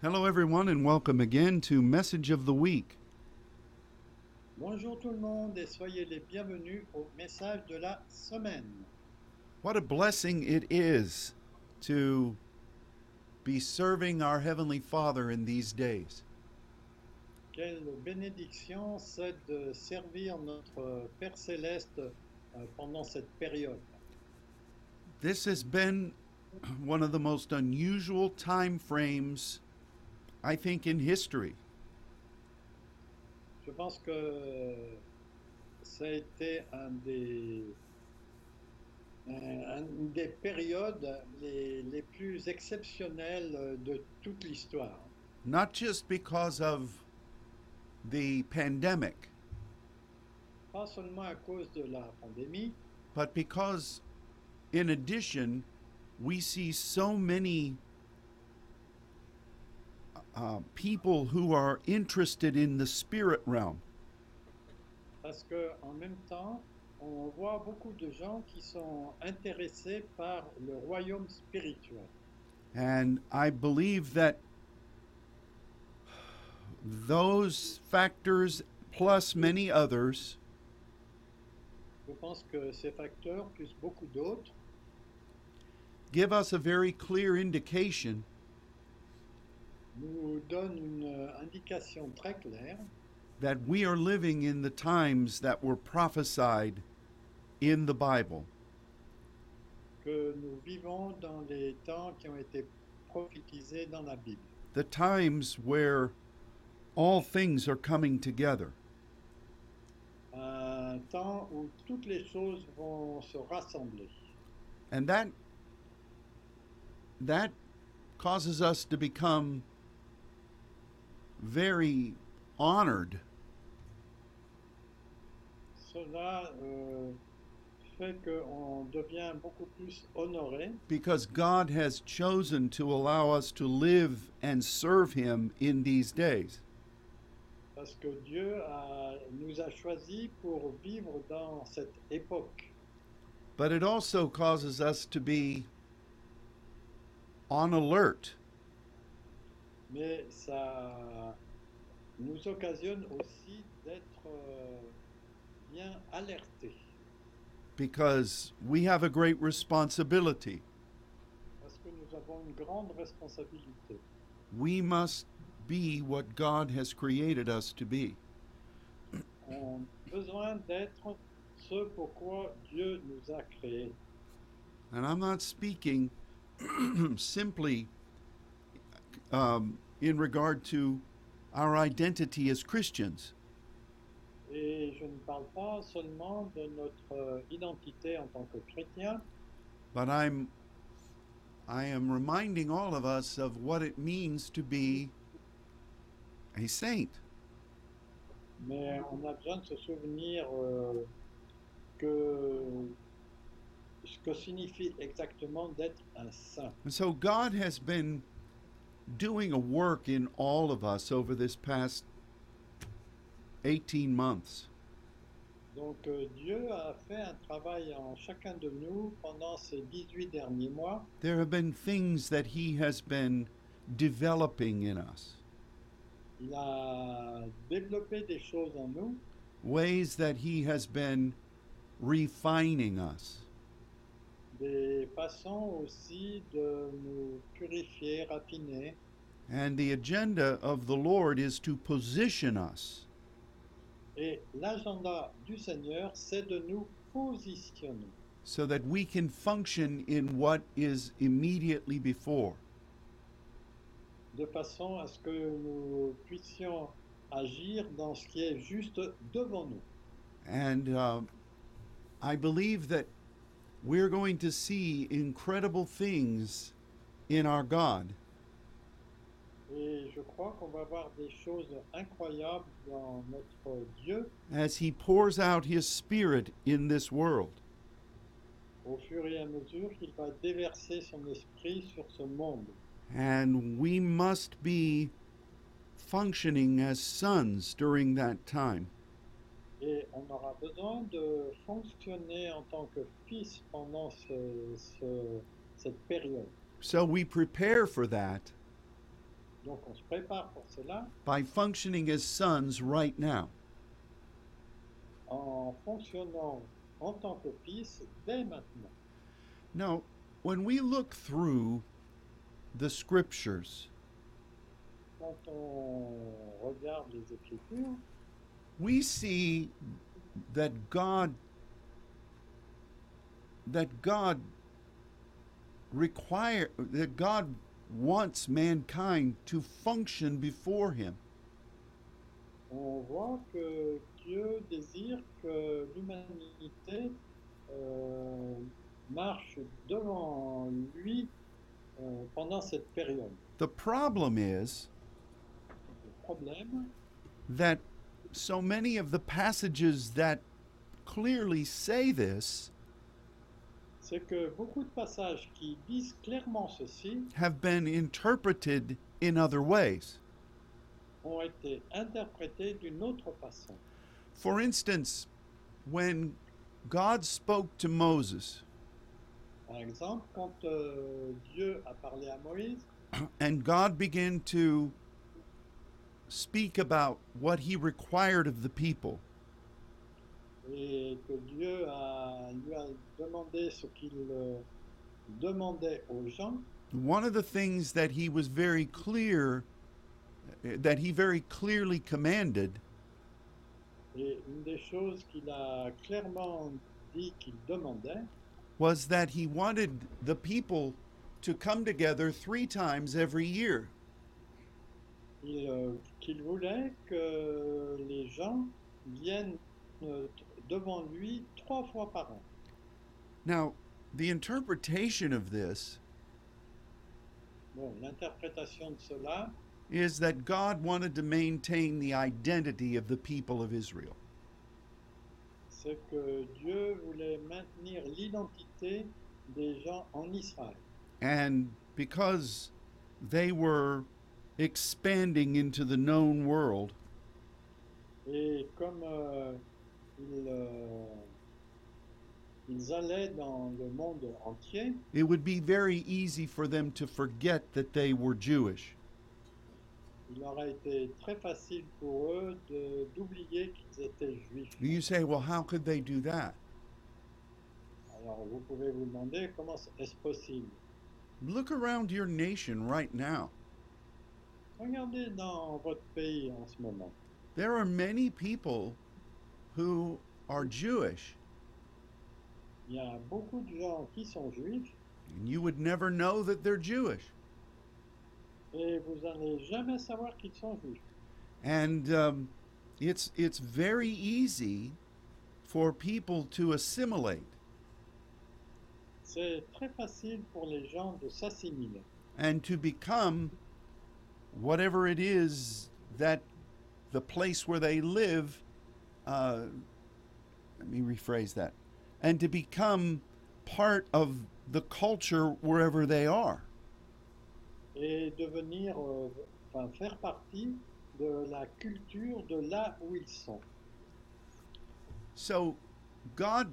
Hello, everyone, and welcome again to Message of the Week. Bonjour tout le monde et soyez les bienvenus au message de la semaine. What a blessing it is to be serving our Heavenly Father in these days. Quelle bénédiction c'est de servir notre Père céleste pendant cette période. This has been one of the most unusual time frames, I think, in history. Je pense que ça a été une des périodes les plus exceptionnelles de toute l'histoire. Not just because of the pandemic, Pas seulement à cause de la pandémie, but because, in addition, we see so many people who are interested in the spirit realm. parce qu'en même temps, on voit beaucoup de gens qui sont intéressés par le royaume spirituel. And I believe that those factors, plus many others, Je pense que ces facteurs, plus beaucoup d'autres, give us a very clear indication nous donnent une indication très claire that we are living in the times that were prophesied in the Bible. que nous vivons dans les temps qui ont été prophétisés dans la Bible. The times where all things are coming together. Un temps où toutes les choses vont se rassembler. And that causes us to become very honored Cela fait qu'on devient beaucoup plus honoré because God has chosen to allow us to live and serve Him in these days. parce que nous a choisis pour vivre dans cette époque. But it also causes us to be on alert Mais ça nous occasionne aussi d'être bien alertés because we have a great responsibility. parce que nous avons une grande responsabilité. We must be what God has created us to be. On a besoin d'être ce pourquoi Dieu nous a créés. And I'm not speaking simply in regard to our identity as Christians, Et je ne parle pas seulement de notre identité en tant que chrétien, but I am reminding all of us of what it means to be a saint. mais on a besoin de se souvenir que ce que signifie exactement d'être un saint. And so God has been doing a work in all of us over this past 18 months. Donc Dieu a fait un travail en chacun de nous pendant ces 18 derniers mois. There have been things that He has been developing in us, Il a développé des choses en nous, ways that He has been refining us. des façons aussi de nous purifier, raffiner. And the agenda of the Lord is to position us Et l'agenda du Seigneur, c'est de nous positionner so that we can function in what is immediately before. de façon à ce que nous puissions agir dans ce qui est juste devant nous. And I believe that we're going to see incredible things in our God Et je crois qu'on va voir des choses incroyables dans notre Dieu as He pours out His Spirit in this world. au fur et à mesure qu'il va déverser son esprit sur ce monde. And we must be functioning as sons during that time. Et on aura besoin de fonctionner en tant que fils pendant cette période. So we prepare for that Donc on se prépare pour cela by functioning as sons right now. en fonctionnant en tant que fils dès maintenant. Now, when we look through the scriptures, Quand on regarde les Écritures, we see that God wants mankind to function before him. on voit que Dieu désire que l'humanité marche devant lui pendant cette période. The problem is Le problème, that so many of the passages that clearly say this c'est que beaucoup de passages qui disent clairement ceci have been interpreted in other ways. ont été interprétés d'une autre façon. For instance, when God spoke to Moses Par exemple, quand Dieu a parlé à Moïse and God began to speak about what he required of the people, et que Dieu lui a demandé ce qu'il demandait aux gens, one of the things that he was very clear, that he very clearly commanded, et une des choses qu'il a clairement dit qu'il demandait, was that he wanted the people to come together 3 times every year. qu'il voulait que les gens viennent devant lui 3 fois par an. Now, the interpretation of this Bon, l'interprétation de cela, is that God wanted to maintain the identity of the people of Israel. c'est que Dieu voulait maintenir l'identité des gens en Israël. And because they were expanding into the known world, Et comme ils allaient dans le monde entier, it would be very easy for them to forget that they were Jewish. il aurait été très facile pour eux d'oublier qu'ils étaient juifs. You say, well, how could they do that? Alors vous pouvez vous demander comment est-ce possible. Look around your nation right now. Regardez dans votre pays en ce moment. There are many people who are Jewish, Il y a beaucoup de gens qui sont juifs and you would never know that they're Jewish. et vous n'allez jamais savoir qu'ils sont juifs. And it's very easy for people to assimilate C'est très facile pour les gens de s'assimiler and to become whatever it is that the place where they live, let me rephrase that, and to become part of the culture wherever they are. et devenir, faire partie de la culture de là où ils sont. So God,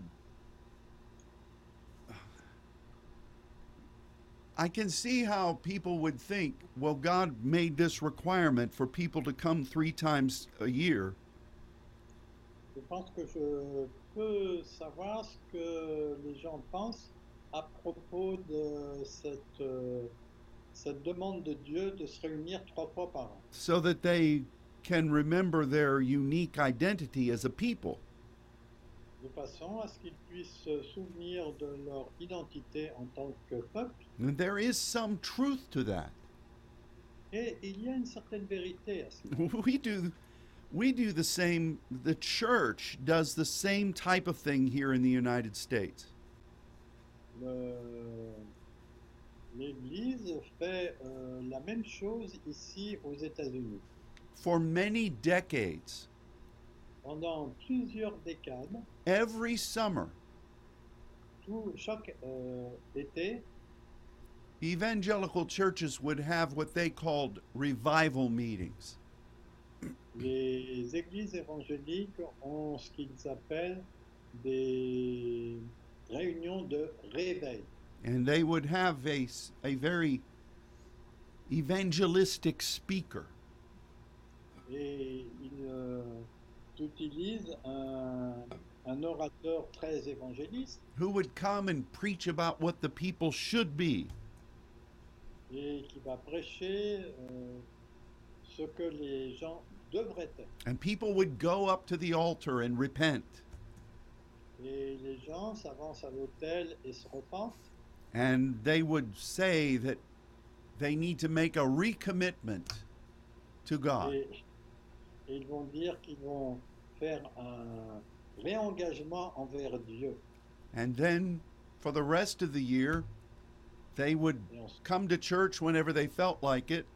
I can see how people would think, well, God made this requirement for people to come 3 times a year. Je pense que je peux savoir ce que les gens pensent à propos de cette demande de Dieu de se réunir 3 fois par an, So that they can remember their unique identity as a people. de façon à ce qu'ils puissent se souvenir de leur identité en tant que peuple. And there is some truth to that. Et il y a une certaine vérité à cela. We do the same, the church does the same type of thing here in the United States. L'Église fait la même chose ici aux États-Unis. For many decades, Pendant plusieurs décades, every summer, chaque été, evangelical churches would have what they called revival meetings. les églises évangéliques ont ce qu'ils appellent des réunions de réveil. And they would have a very evangelistic speaker Et il utilise un orateur très évangéliste who would come and preach about what the people should be. et qui va prêcher ce que les gens devraient être. And people would go up to the altar and repent. Et les gens s'avancent à l'autel et se repentent. And they would say that they need to make a recommitment to God. Et ils vont dire qu'ils vont faire un réengagement envers Dieu. And then for the rest of the year, they would Et ensuite, come to church whenever they felt like it.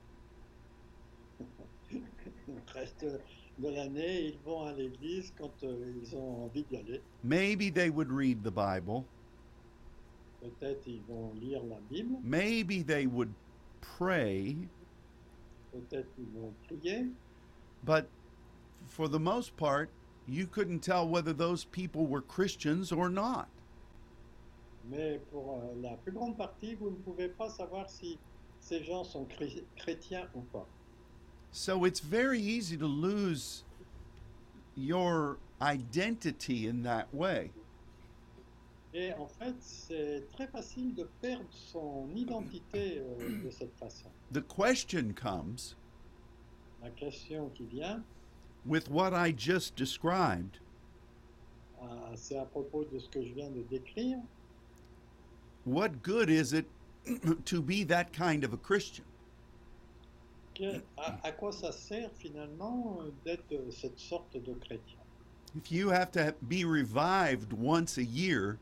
le reste de l'année, ils vont à l'église quand ils ont envie d'y aller. Maybe they would read the Bible. Peut-être ils vont lire la Bible, Maybe they would pray. peut-être ils vont prier, But for the most part, you couldn't tell whether those people were Christians or not. mais pour la plus grande partie, vous ne pouvez pas savoir si ces gens sont chrétiens ou pas. So it's very easy to lose your identity in that way. Et en fait, c'est très facile de perdre son identité de cette façon. The question comes La question qui vient, with what I just described. c'est à propos de ce que je viens de décrire. What good is it to be that kind of a Christian? À quoi ça sert finalement d'être cette sorte de chrétien? If you have to be revived once a year,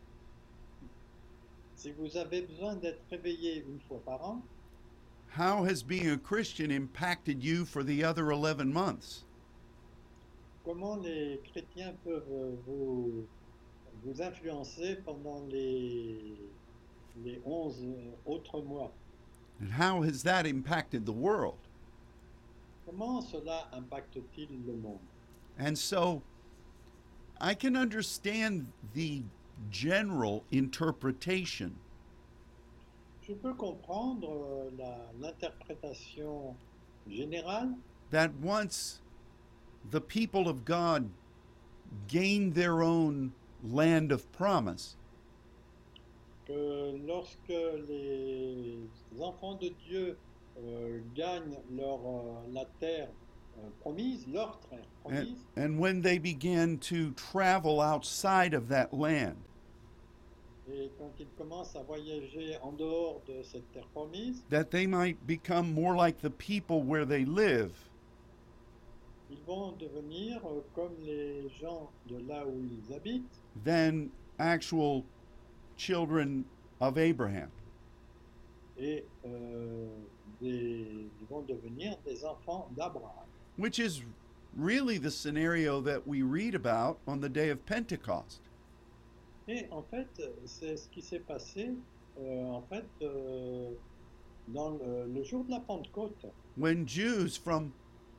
Si vous avez besoin d'être réveillé une fois par an, how has being a Christian impacted you for the other 11 months? comment les chrétiens peuvent vous influencer pendant les 11 autres mois? And how has that impacted the world? Comment cela impacte-t-il le monde? And so I can understand the general interpretation Je peux comprendre l'interprétation générale that once the people of God gained their own land of promise, que lorsque les enfants de Dieu gagnent la terre promise, leur terre promise, and when they began to travel outside of that land, et quand ils commencent à voyager en dehors de cette terre promise, that they might become more like the people where they live, ils vont devenir comme les gens de là où ils habitent, than actual children of Abraham. et ils vont devenir des enfants d'Abraham. Which is really the scenario that we read about on the day of Pentecost. Et en fait, c'est ce qui s'est passé dans le jour de la Pentecôte, When Jews from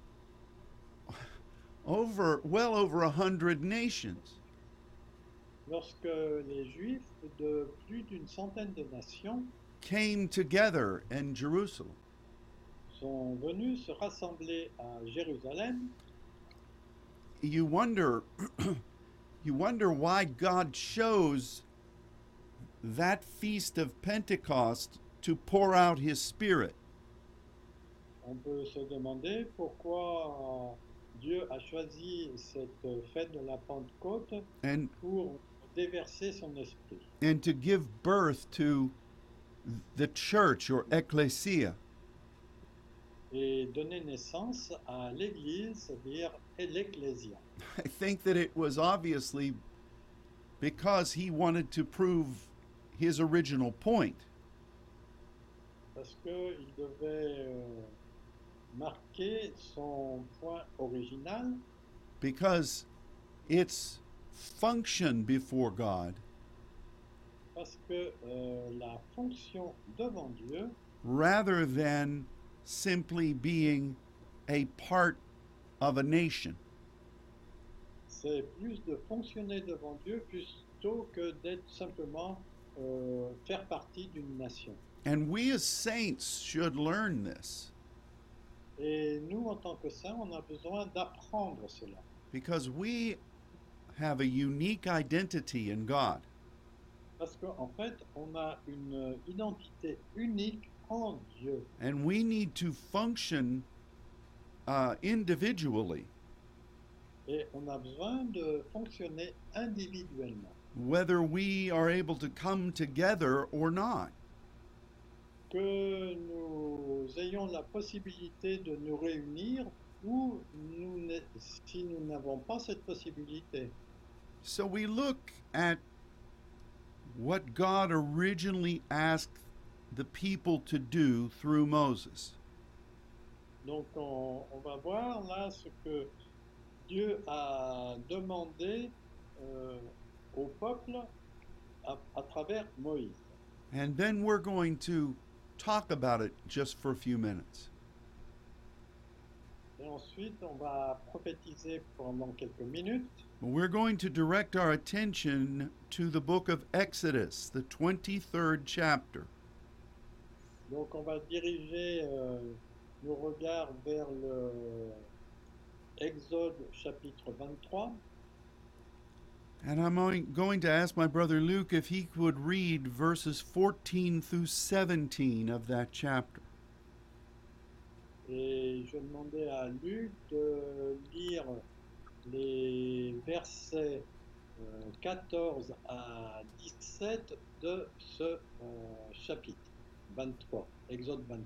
well over 100 nations lorsque les Juifs de plus d'une centaine de nations came together in Jerusalem. sont venus se rassembler à Jérusalem. You wonder why God chose that feast of Pentecost to pour out his spirit. On peut se demander pourquoi Dieu a choisi cette fête de la Pentecôte and pour déverser son esprit and to give birth to the church or ecclesia. et donner naissance à l'Église, c'est-à-dire l'Ecclésia. I think that it was obviously because he wanted to prove his original point. Parce qu'il devait marquer son point original, Because its function before God parce que la fonction devant Dieu, rather than simply being a part of a nation. c'est plus de fonctionner devant Dieu plutôt que d'être simplement faire partie d'une nation. And we as saints should learn this Et nous, en tant que saints, on a besoin d'apprendre cela. because we have a unique identity in God. Parce qu'en fait, on a une identité unique en Dieu. And we need to function individually, Et on a besoin de fonctionner individuellement. whether we are able to come together or not. Que nous ayons la possibilité de nous réunir ou si nous n'avons pas cette possibilité. So we look at what God originally asked the people to do through Moses. Donc on va voir là ce que Dieu a demandé au peuple à travers Moïse. And then we're going to talk about it just for a few minutes. Et ensuite, on va prophétiser pendant quelques minutes. We're going to direct our attention to the book of Exodus, the 23rd chapter. Donc on va diriger nos regards vers le Exode chapitre 23. And I'm going to ask my brother Luke if he would read verses 14 through 17 of that chapter. Et je demandais à Luc de lire les versets 14 à 17 de ce chapitre 23, Exode 23.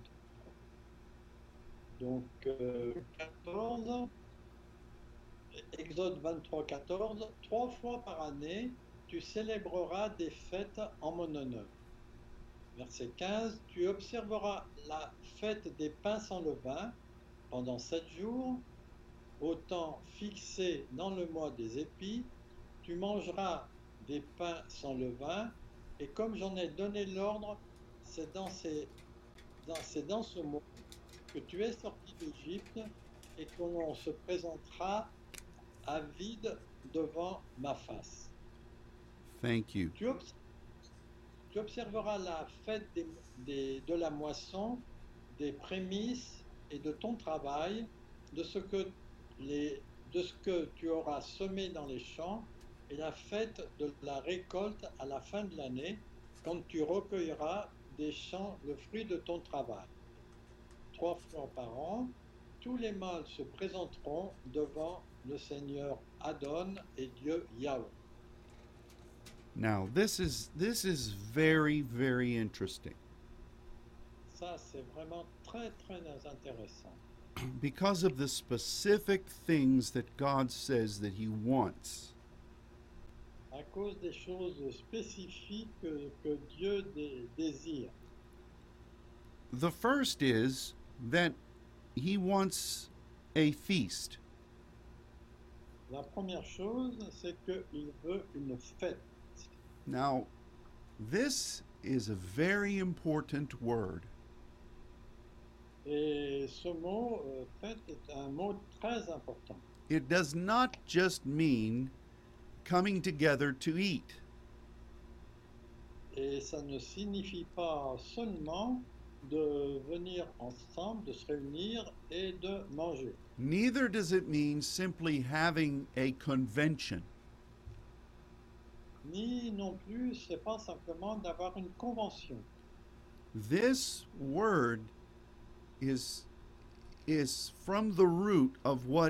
Donc 14, Exode 23, 14, 3 fois par année, tu célébreras des fêtes en mon honneur. Verset 15, tu observeras la fête des pains sans levain pendant 7 jours, au temps fixé dans le mois des épis, tu mangeras des pains sans levain, et comme j'en ai donné l'ordre, c'est dans ce mois que tu es sorti d'Égypte et qu'on se présentera à vide devant ma face. Thank you. Tu observeras la fête de la moisson, des prémices et de ton travail, de ce que tu auras semé dans les champs, et la fête de la récolte à la fin de l'année, quand tu recueilleras des champs le fruit de ton travail. 3 fois par an, tous les mâles se présenteront devant le Seigneur Adon et Dieu Yahweh. Now, this is very, very interesting Ça, c'est vraiment très, très intéressant. because of the specific things that God says that He wants. À cause des choses spécifiques que Dieu désire. The first is that He wants a feast. La première chose, c'est qu'il veut une fête. Now, this is a very important word. Et ce mot, fête, est un mot très important. It does not just mean coming together to eat. Et ça ne signifie pas seulement de venir ensemble, de se réunir et de manger. Neither does it mean simply having a convention. Ni non plus, c'est pas simplement d'avoir une convention. This word is from the root of what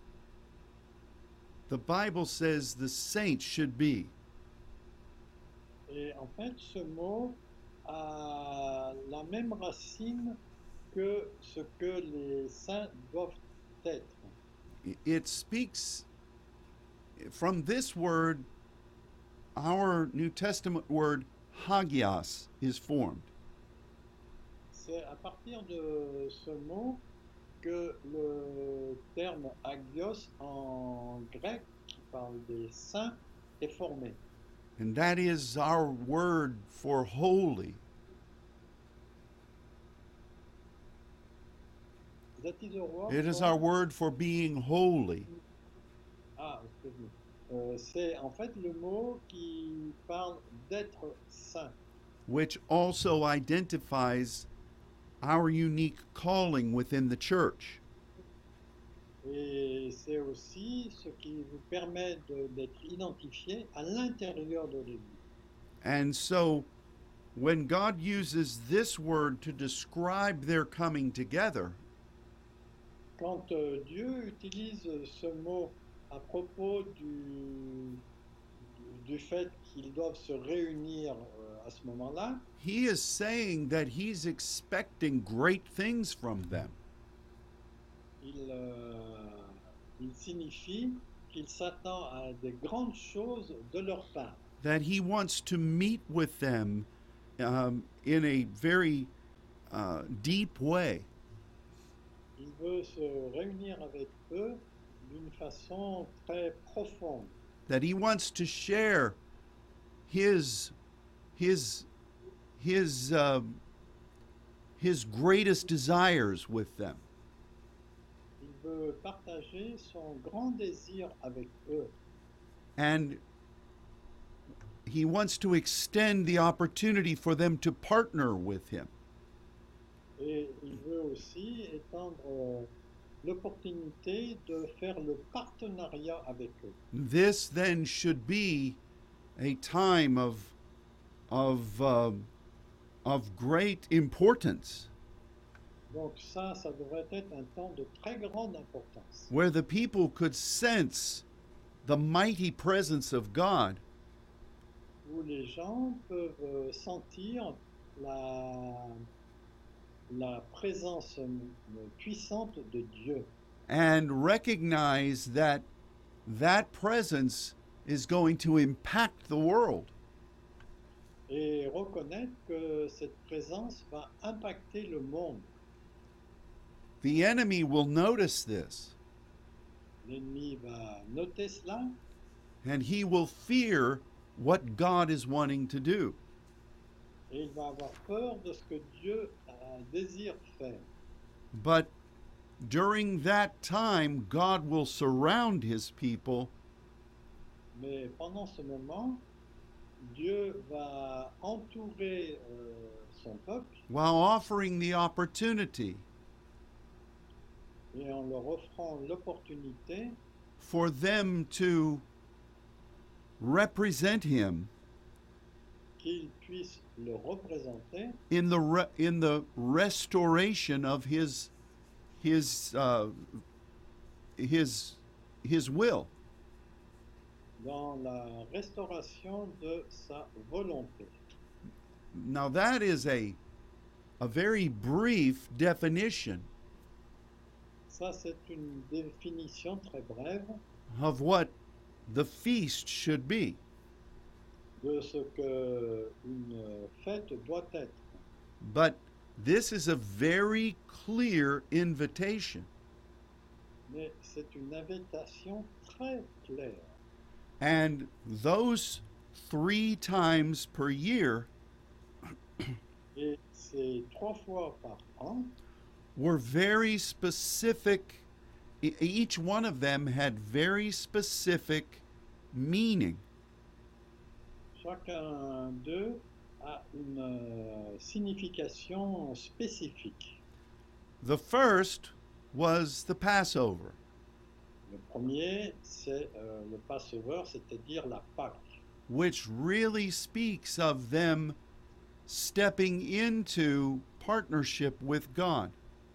the Bible says the saints should be. Et en fait, ce mot a la même racine que ce que les saints doivent être. It speaks from this word, our New Testament word hagios is formed. C'est à partir de ce mot que le terme agios en grec, qui parle des saints, est formé. And that is our word for holy. That is a word It is for- our word for being holy. Ah, excuse-moi. C'est en fait le mot qui parle d'être saint. which also identifies our unique calling within the church. Et c'est aussi ce qui vous permet d'être identifié à l'intérieur de l'Église. And so, when God uses this word to describe their coming together, Quand Dieu utilise ce mot à propos du fait qu'ils doivent se réunir à ce moment-là, He is saying that He's expecting great things from them. il signifie qu'il s'attend à des grandes choses de leur part. That He wants to meet with them in a very deep way. Il veut se réunir avec eux d'une façon très profonde. That He wants to share His greatest desires with them. Il veut partager son grand désir avec eux. And He wants to extend the opportunity for them to partner with Him. Et il veut aussi étendre l'opportunité de faire le partenariat avec eux. This then should be a time of great importance, Donc ça devrait être un temps de très grande importance, where the people could sense the mighty presence of God, où les gens peuvent sentir la présence puissante de Dieu and recognize that that presence is going to impact the world. et reconnaître que cette présence va impacter le monde. The enemy will notice this, L'ennemi va noter cela and he will fear what God is wanting to do. et il va avoir peur de ce que Dieu désire faire. But during that time, God will surround His people Mais pendant ce moment, Dieu va entourer son peuple while offering the opportunity et en leur offrant l'opportunité for them to represent Him qu'ils puissent le représenter in the restoration of His will. dans la restauration de sa volonté. Now that is a very brief definition Ça, c'est une définition très brève of what the feast should be. de ce que une fête doit être. But this is a very clear invitation. Mais c'est une invitation très claire. And those 3 times per year Et ces 3 fois par an were very specific. Each one of them had very specific meaning. chacun d'eux a une signification spécifique. The first was the Passover, Le premier, c'est le Passover, c'est-à-dire la Pâque, which really speaks of them stepping into partnership with God.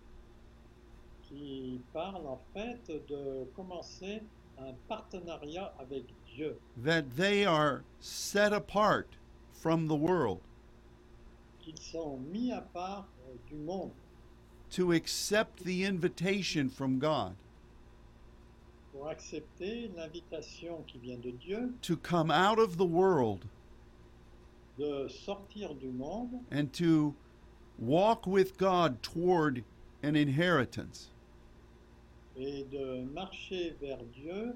qui parle en fait de commencer un partenariat avec Dieu, That they are set apart from the world qu'ils sont mis à part du monde to accept the invitation from God pour accepter l'invitation qui vient de Dieu to come out of the world de sortir du monde and to walk with God toward an inheritance. et de marcher vers Dieu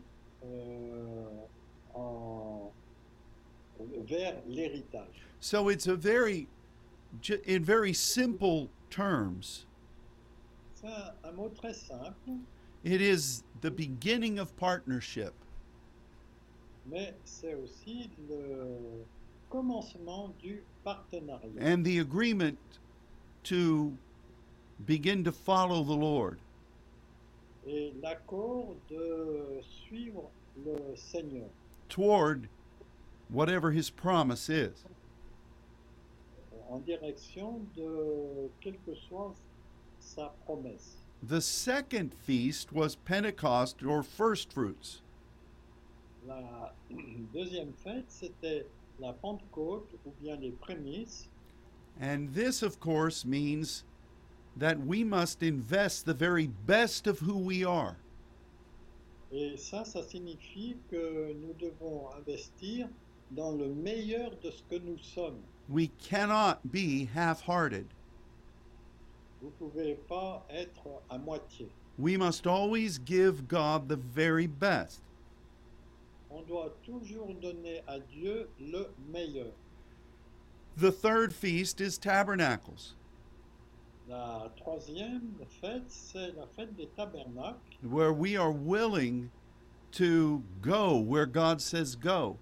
vers l'héritage. So it's a in very simple terms, C'est un mot très simple, it is the beginning of partnership. mais c'est aussi le commencement du partenariat and the agreement to begin to follow the Lord. et l'accord de suivre le Seigneur Toward whatever his promise is. en direction de quelle que soit sa promesse. The second feast was Pentecost or first fruits. La deuxième fête, c'était la Pentecôte ou bien les prémices. And this, of course, means that we must invest the very best of who we are. Et ça signifie que nous devons investir dans le meilleur de ce que nous sommes. We cannot be half-hearted. Vous ne pouvez pas être à moitié. We must always give God the very best. On doit toujours donner à Dieu le meilleur. The third feast is Tabernacles, La troisième fête, c'est la fête des tabernacles, where we are willing to go where God says go.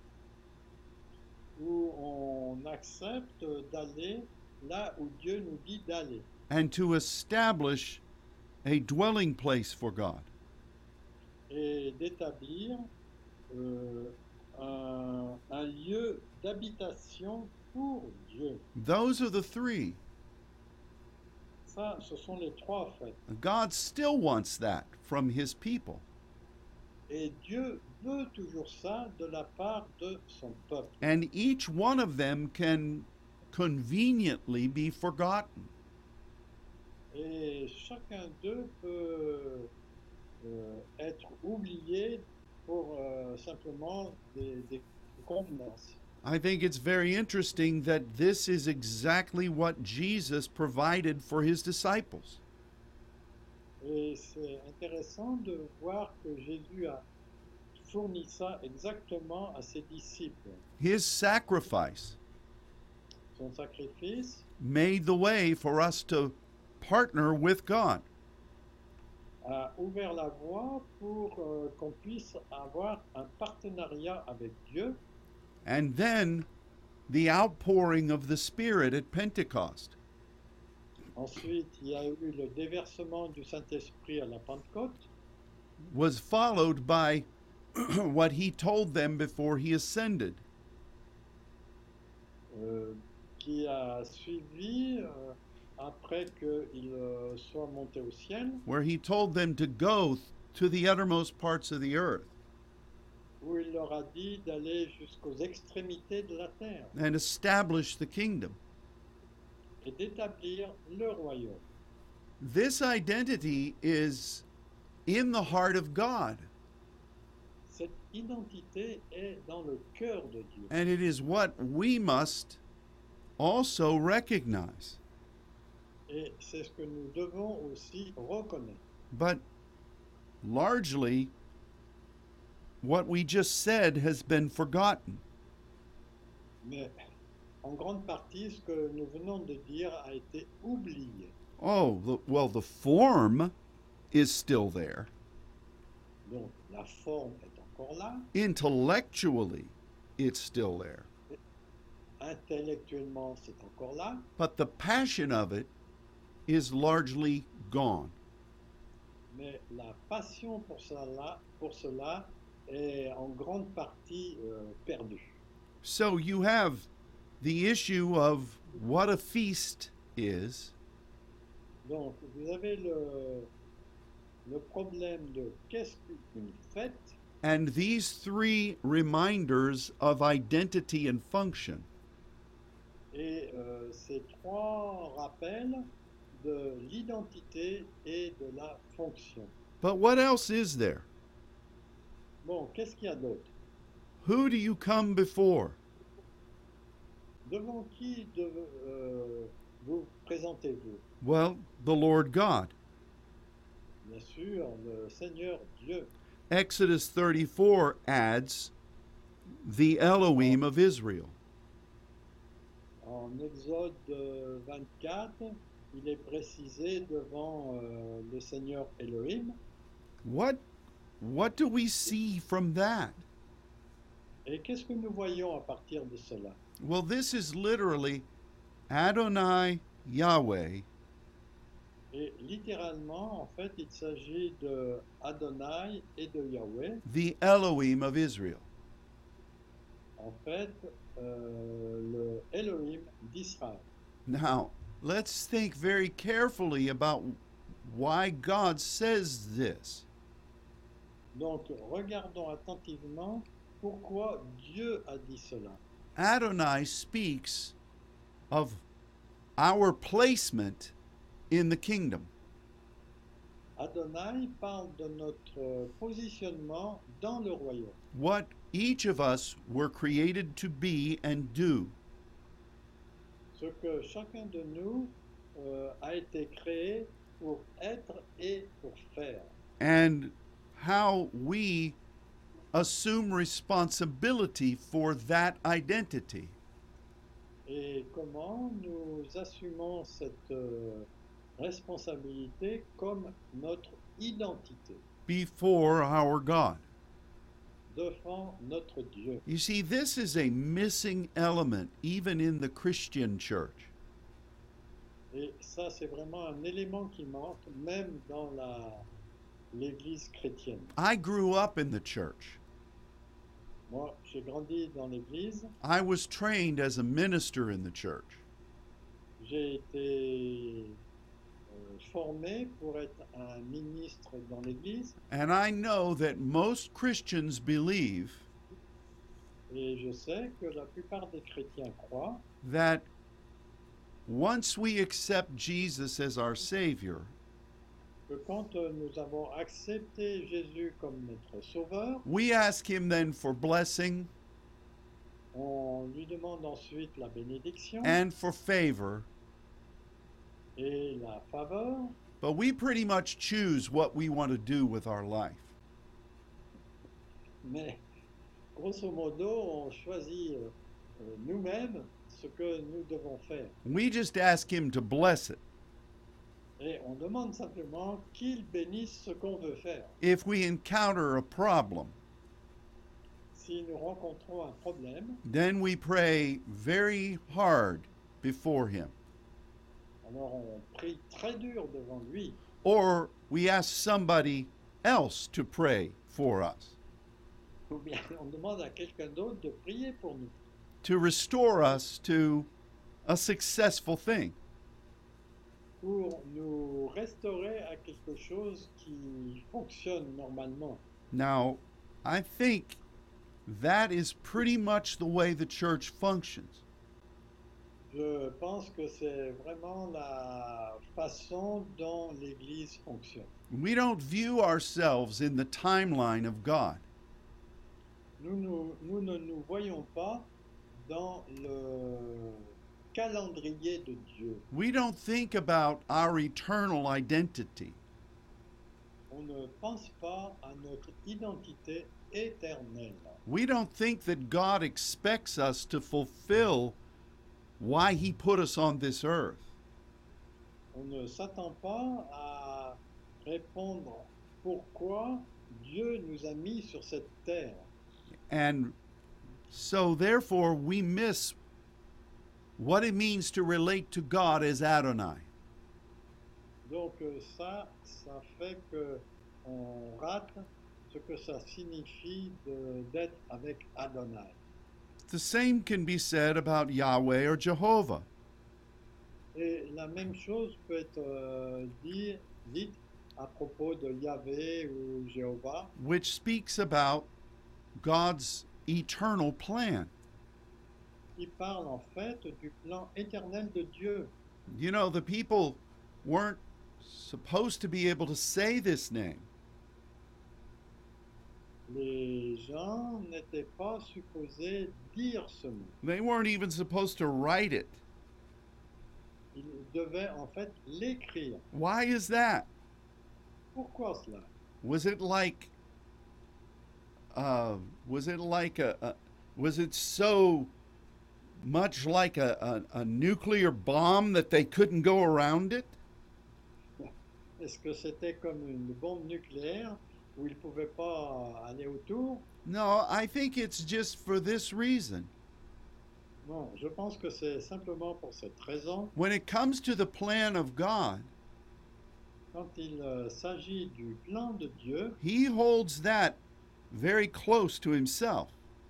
où on accepte d'aller là où Dieu nous dit d'aller And to establish a dwelling place for God. et d'établir un lieu d'habitation pour Dieu. Those are the three. Ça, ce sont les trois fêtes. God still wants that from his people. Et Dieu veut toujours ça de la part de son peuple. And each one of them can conveniently be forgotten. Et chacun d'eux peut être oublié pour simplement des convenances. I think it's very interesting that this is exactly what Jesus provided for his disciples. Et c'est intéressant de voir que Jésus a fourni ça exactement à ses disciples. His sacrifice Son sacrifice made the way for us to partner with God. a ouvert la voie pour qu'on puisse avoir un partenariat avec Dieu. And then the outpouring of the Spirit at Pentecost. Ensuite, il y a eu le déversement du Saint-Esprit à la Pentecôte, Was followed by what he told them before he ascended. qui a suivi après qu'il soit monté au ciel, Where he told them to go to the uttermost parts of the earth où il leur a dit d'aller jusqu'aux extrémités de la terre and establish the kingdom. et d'établir le royaume. This identity is in the heart of God, Cette identité est dans le cœur de Dieu. and it is what we must also recognize. Et c'est ce que nous devons aussi reconnaître. But largely, what we just said has been forgotten. Mais en grande partie, ce que nous venons de dire a été oublié. The form is still there. Donc la forme est encore là, Intellectually, it's still there. intellectuellement c'est encore là, But the passion of it is largely gone. mais la passion pour cela est en grande partie perdue. So you have the issue of what a feast is, Donc vous avez le problème de qu'est-ce qu'une fête and these three reminders of identity and function. et ces trois rappels de l'identité et de la fonction. But what else is there? Bon, qu'est-ce qu'il y a d'autre? Who do you come before? Devant qui vous présentez-vous? Well, the Lord God. Bien sûr, le Seigneur Dieu. Exodus 34 adds the Elohim of Israel. En Exode 24, il est précisé devant le Seigneur Elohim. What do we see from that? Et qu'est-ce que nous voyons à partir de cela? Well, this is literally Adonai Yahweh, Et littéralement, en fait, il s'agit de Adonai et de Yahweh. the Elohim of Israel. En fait, le Elohim d'Israël. Now, let's think very carefully about why God says this. Donc, regardons attentivement pourquoi Dieu a dit cela. Adonai speaks of our placement in the kingdom. Adonai parle de notre positionnement dans le royaume. What each of us were created to be and do. Ce que chacun de nous a été créé pour être et pour faire. And how we assume responsibility for that identity. Et comment nous assumons cette responsabilité comme notre identité Before our God. devant notre Dieu. You see, this is a missing element even in the Christian church. Et ça, c'est vraiment un élément qui manque, même dans l'Église chrétienne. I grew up in the church. Moi, j'ai grandi dans l'Église, I was trained as a minister in the church. j'ai été formé pour être un ministre dans l'Église, And I know that most Christians believe et je sais que la plupart des chrétiens croient that once we accept Jesus as our Savior, que quand nous avons accepté Jésus comme notre Sauveur, we ask Him then for blessing on lui demande ensuite la bénédiction and for favor, et la faveur, but we pretty much choose what we want to do with our life. mais grosso modo, on choisit nous-mêmes ce que nous devons faire. We just ask Him to bless it. Et on demande simplement qu'il bénisse ce qu'on veut faire. If we encounter a problem, Si nous rencontrons un problème, then we pray very hard before Him. alors on prie très dur devant lui, Or we ask somebody else to pray for us, ou bien on demande à quelqu'un d'autre de prier pour nous, to restore us to a successful thing. pour nous restaurer à quelque chose qui fonctionne normalement. Now, I think that is pretty much the way the church functions. Je pense que c'est vraiment la façon dont l'Église fonctionne. We don't view ourselves in the timeline of God. Nous ne nous voyons pas dans le calendrier de Dieu. We don't think about our eternal identity. On ne pense pas à notre identité éternelle. We don't think that God expects us to fulfill why He put us on this earth. On ne s'attend pas à répondre pourquoi Dieu nous a mis sur cette terre. And so, therefore, we miss what it means to relate to God as Adonai. Donc ça fait que on rate ce que ça signifie d'être avec Adonai. The same can be said about Yahweh or Jehovah. Et la même chose peut être dite à propos de Yahvé ou Jéhovah, Which speaks about God's eternal plan. qui parle en fait du plan éternel de Dieu. You know, the people weren't supposed to be able to say this name. Les gens n'étaient pas supposés dire ce mot. They weren't even supposed to write it. Ils devaient en fait l'écrire. Why is that? Pourquoi cela? Was it like was it so much like a nuclear bomb that they couldn't go around it? Est-ce que c'était comme une bombe nucléaire où ils ne pouvaient pas aller autour? No, I think it's just for this reason. Bon, je pense que c'est simplement pour cette raison, When it comes to the plan of God, quand il s'agit du plan de Dieu, He holds that very close to Himself.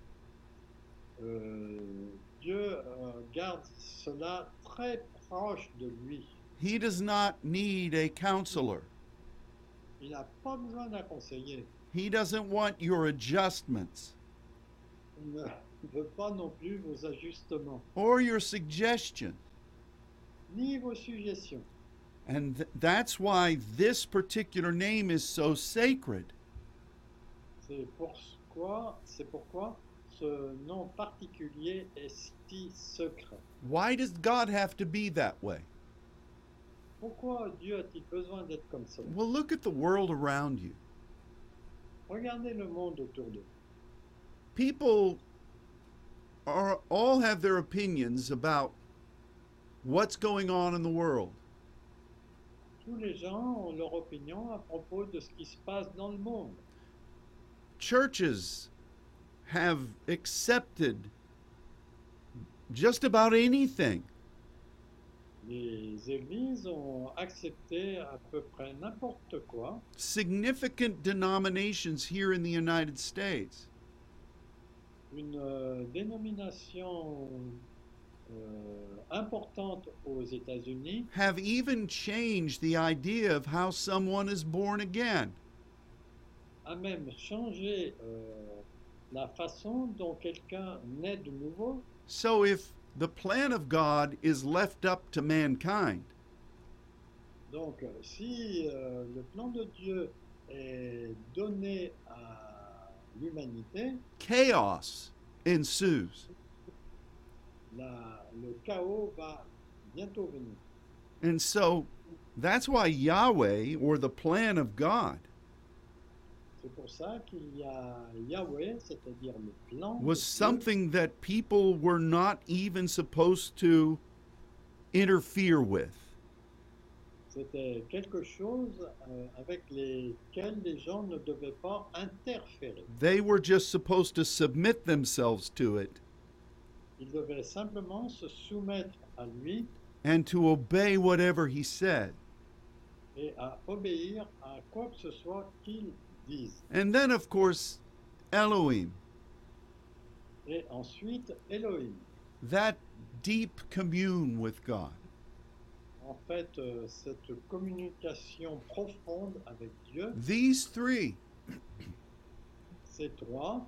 Dieu garde cela très proche de lui. He does not need a counselor. Il n'a pas besoin d'un conseiller. He doesn't want your adjustments Il ne veut pas non plus vos ajustements, or your suggestions. ni vos suggestions. And that's why this particular name is so sacred. C'est pourquoi ce nom particulier est si secret. Why does God have to be that way? Pourquoi Dieu a-t-il besoin d'être comme ça? Well, look at the world around you. Regardez le monde autour de vous. People all have their opinions about what's going on in the world. Tous les gens ont leur opinion à propos de ce qui se passe dans le monde. Churches have accepted just about anything. Les églises ont accepté à peu près n'importe quoi. Significant denominations here in the United States Une dénomination importante aux États-Unis have even changed the idea of how someone is born again. a même changé la façon dont quelqu'un naît de nouveau. So if the plan of God is left up to mankind, Donc, si le plan de Dieu est donné à l'humanité, chaos ensues. le chaos va bientôt venir. And so that's why Yahweh, or the plan of God, C'est pour ça qu'il y a Yahweh, c'est-à-dire le plan de was Dieu, something that people were not even supposed to interfere with. c'était quelque chose avec lesquels les gens ne devaient pas interférer. They were just supposed to submit themselves to it Ils devaient simplement se soumettre à lui and to obey whatever he said. et à obéir à quoi que ce soit qu'il dise. And then, of course, Elohim, Et ensuite, Elohim. that deep commune with God. En fait, cette communication profonde avec Dieu, These three, ces trois,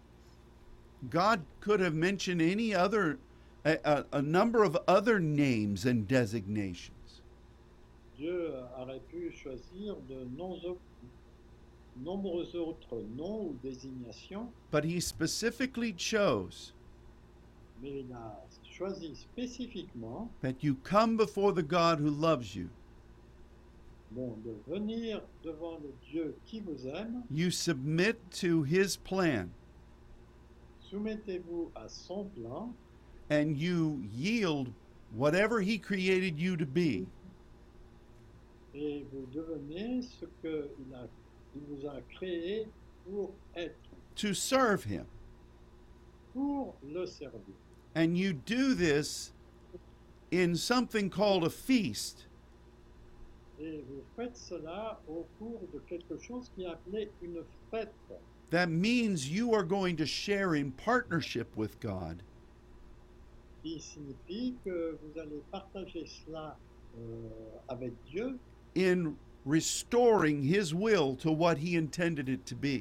God could have mentioned any other, a number of other names and designations. Dieu aurait pu choisir de nombreux autres noms ou désignations, But he specifically chose mais il a choisi spécifiquement that you come before the God who loves you. de venir devant le Dieu qui vous aime, You submit to his plan soumettez-vous à son plan and you yield whatever he created you to be et vous devenez ce qu'il vous a créé pour être, to serve him. pour le servir. And you do this in something called a feast. Et vous faites cela au cours de quelque chose qui est appelé une fête, That means you are going to share in partnership with God qui signifie que vous allez partager cela avec Dieu in restoring his will to what he intended it to be.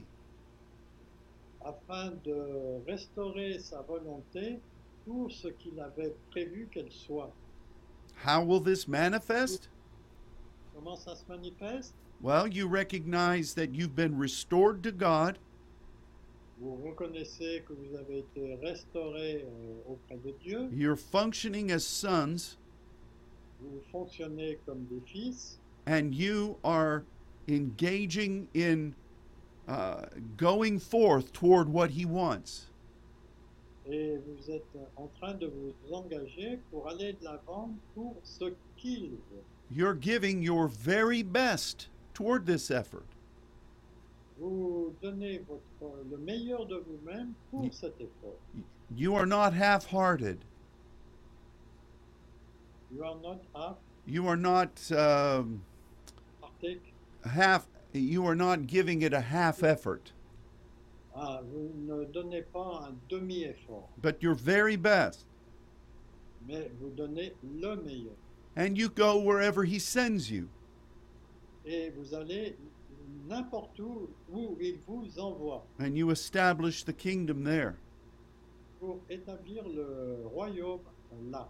afin de restaurer sa volonté pour ce qu'il avait prévu qu'elle soit. How will this manifest? Comment ça se manifeste? Well, you recognize that you've been restored to God. Vous reconnaissez que vous avez été restauré auprès de Dieu, You're functioning as sons, vous fonctionnez comme des fils, and you are engaging in going forth toward what he wants. et vous êtes en train de vous engager pour aller de l'avant pour ce qu'il veut. You're giving your very best toward this effort. Vous donnez le meilleur de vous-même pour cet effort. You are not half-hearted. You are not half, You are not partake. you are not giving it a half effort, Ah, vous ne donnez pas un demi-effort, but your very best. mais vous donnez le meilleur. And you go wherever he sends you. Et vous allez n'importe où il vous envoie And you establish the kingdom there. pour établir le royaume là.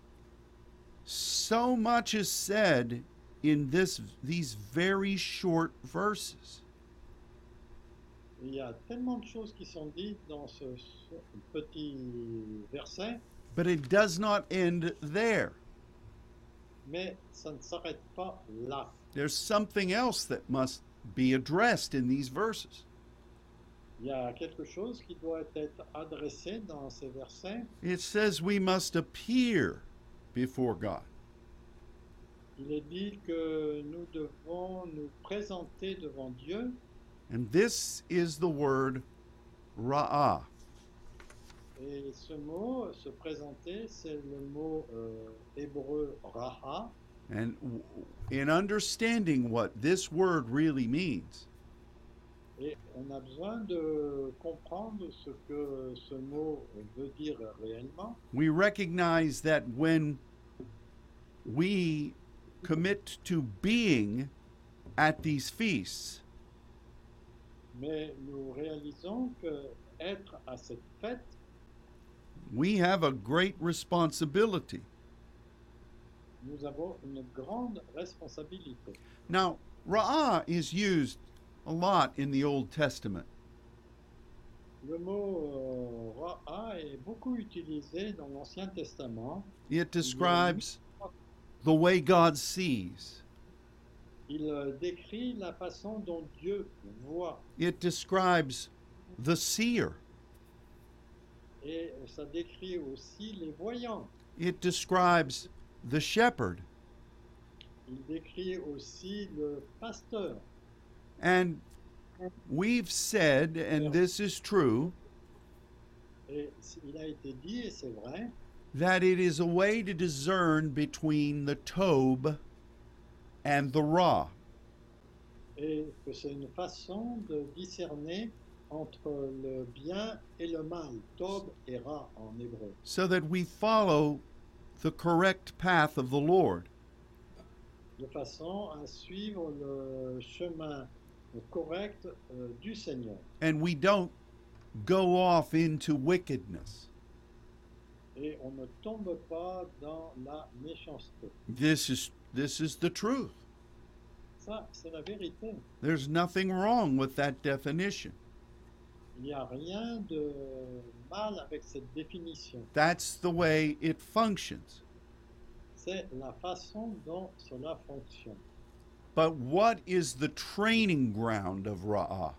So much is said in these very short verses. Il y a tellement de choses qui sont dites dans ce petit verset, But it does not end there. mais ça ne s'arrête pas là. There's something else that must be addressed in these verses. Il y a quelque chose qui doit être adressé dans ces versets. It says we must appear before God. Il est dit que nous devons nous présenter devant Dieu. And this is the word ra'ah. Et ce mot, se présenter, c'est le mot hébreu raha. And in understanding what this word really means, Et on a besoin de comprendre ce que ce mot veut dire réellement. we recognize that when we commit to being at these feasts, Mais nous réalisons que être à cette fête, we have a great responsibility. nous avons une grande responsabilité. Now, ra'ah is used a lot in the Old Testament. Le mot ra'a est beaucoup utilisé dans l'Ancien Testament. It describes the way God sees. Il décrit la façon dont Dieu voit. It describes the seer. Et ça décrit aussi les voyants. It describes the shepherd. Il décrit aussi le pasteur. And we've said, and this is true, Et il a été dit, et c'est vrai, that it is a way to discern between the tob and the ra. et que c'est une façon de discerner entre le bien et le mal, Tob et Ra en hébreu, So that we follow the correct path of the Lord. de façon à suivre le chemin correct du Seigneur. And we don't go off into wickedness. Et on ne tombe pas dans la méchanceté. This is the truth. Ça, c'est la vérité. There's nothing wrong with that definition. Il n'y a rien de mal avec cette définition. That's the way it functions. C'est la façon dont cela fonctionne. But what is the training ground of ra'ah?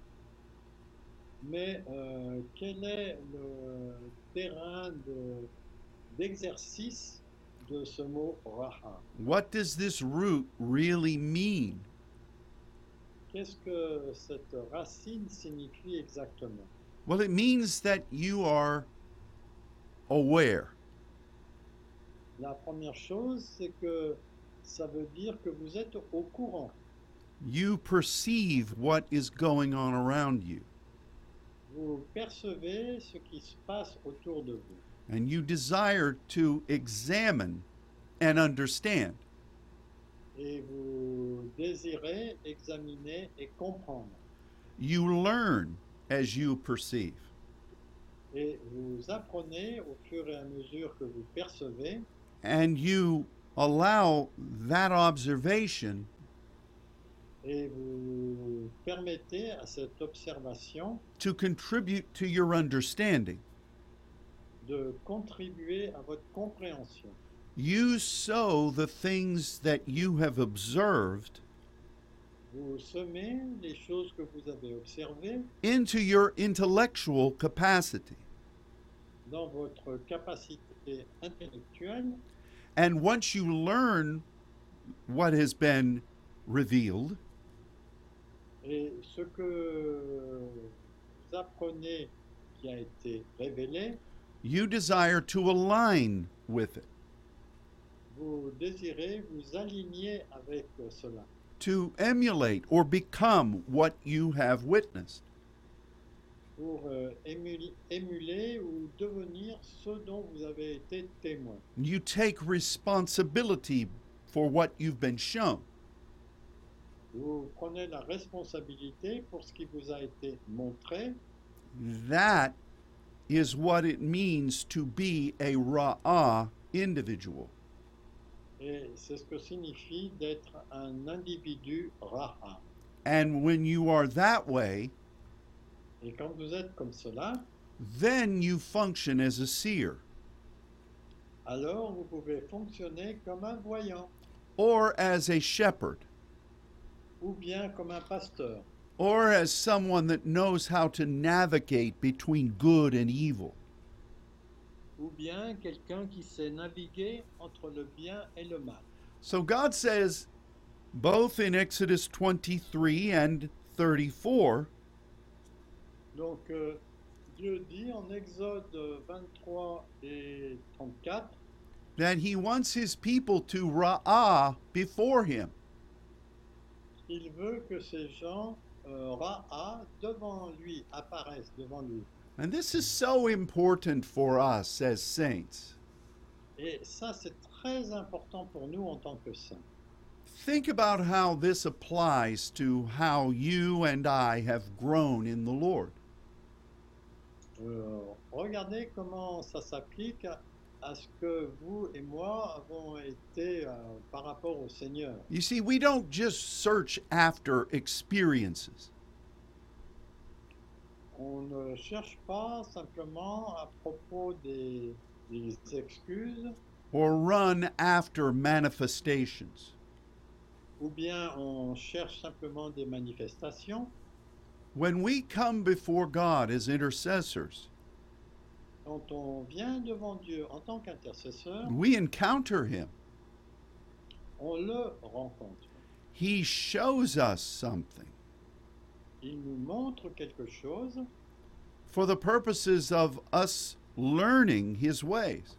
Mais quel est le terrain d'exercice de ce mot raha? What does this root really mean? Qu'est-ce que cette racine signifie exactement? Well, it means that you are aware. La première chose, c'est que ça veut dire que vous êtes au courant. You perceive what is going on around you, Vous percevez ce qui se passe autour de vous. and you desire to examine and understand. Et vous désirez examiner et comprendre. You learn as you perceive. Et vous apprenez au fur et à mesure que vous percevez. And you allow that observation Et vous permettez à cette observation to contribute to your understanding. de contribuer à votre compréhension. You sow the things that you have observed Vous semez les choses que vous avez observées into your intellectual capacity. dans votre capacité intellectuelle. And once you learn what has been revealed, Et ce que vous apprenez qui a été révélé, you desire to align with it. vous désirez vous aligner avec cela, to emulate or become what you have witnessed. pour émuler ou devenir ce dont vous avez été témoin. You take responsibility for what you've been shown. Vous prenez la responsabilité pour ce qui vous a été montré. That is what it means to be a Ra'ah individual. Et c'est ce que signifie d'être un individu Ra'a. And when you are that way, Et quand vous êtes comme cela, then you function as a seer alors vous pouvez fonctionner comme un voyant, or as a shepherd ou bien comme un pasteur, or as someone that knows how to navigate between good and evil. ou bien quelqu'un qui sait naviguer entre le bien et le mal. So God says, both in Exodus 23 and 34, Donc Dieu dit en Exode 23 et 34 that he wants his people to Ra'ah before him. qu'il veut que ces gens Ra'a devant lui apparaissent devant lui. And this is so important for us as saints. Et ça, c'est très important pour nous en tant que saints. Think about how this applies to how you and I have grown in the Lord. Regardez comment ça s'applique à ce que vous et moi avons été par rapport au Seigneur. You see, we don't just search after experiences. On ne cherche pas simplement à propos des excuses, Or run after manifestations. ou bien on cherche simplement des manifestations. When we come before God as intercessors, Quand on vient devant Dieu en tant qu'intercesseur, we encounter him. on le rencontre. He shows us something Il nous montre quelque chose for the purposes of us learning his ways.